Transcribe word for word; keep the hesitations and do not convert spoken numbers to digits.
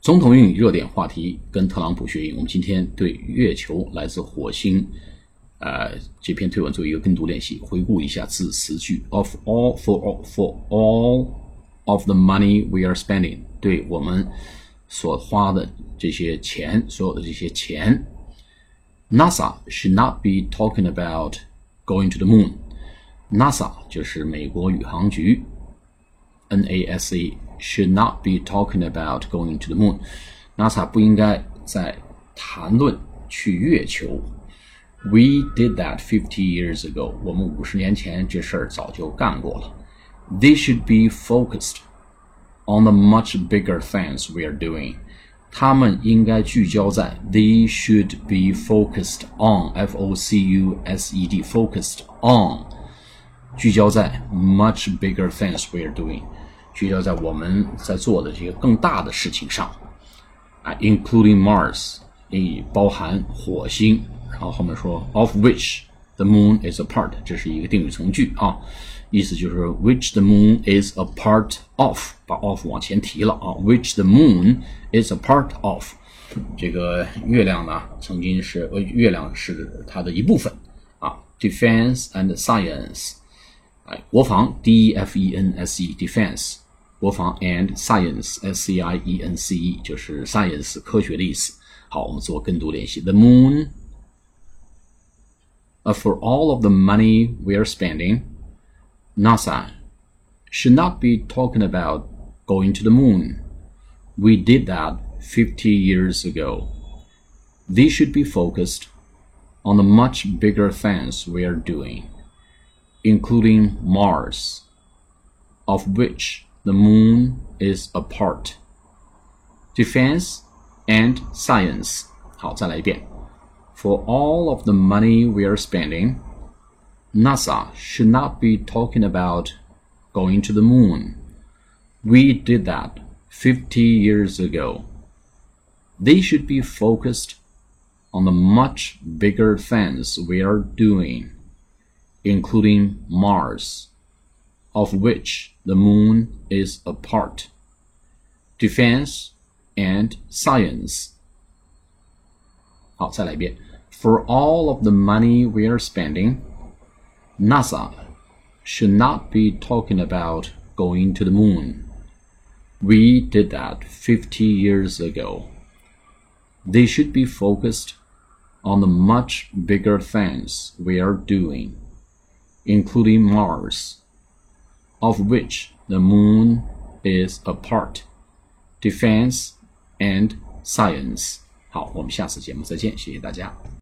总统英语热点话题，跟特朗普学英。我们今天对月球来自火星呃，这篇推文做一个跟读练习，回顾一下字词句 of all for all for all of the money we are spending， 对我们所花的这些钱，所有的这些钱。NASA should not be talking about going to the moon。 NASA 就是美国宇航局 N A S A should not be talking about going to the moon。 NASA 不应该在谈论去月球。We did that fifty years ago。 我们五十年前这事儿早就干过了。They should be focused on the much bigger things we are doing。 他们应该聚焦在 They should be focused on F O C U S E D focused on 聚焦在 much bigger things we are doing， 聚焦在我们在做的这些更大的事情上啊 including Mars， 也包含火星。然后后面说 of which the moon is a part， 这是一个定语从句啊，意思就是 which the moon is a part of， 把 of 往前提了啊 which the moon is a part of。 这个月亮呢曾经是呃月亮是它的一部分啊 defense and science， 哎，国防 D E F E N S E defense， 国防 and science S C I E N C E 就是 science 科学的意思。好，我们做跟读练习。 The moon Uh, for all of the money we are spending, NASA should not be talking about going to the moon. We did that fifty years ago. They should be focused on the much bigger things we are doing, including Mars, of which the moon is a part, defense and science. 好，再来一遍。For all of the money we are spending, NASA should not be talking about going to the moon. We did that fifty years ago. They should be focused on the much bigger things we are doing, including Mars, of which the moon is a part, defense and science. 好，再来一遍。For all of the money we are spending, NASA should not be talking about going to the moon. We did that fifty years ago. They should be focused on the much bigger things we are doing, including Mars, of which the moon is a part, defense and science. 好，我们下次节目再见，谢谢大家。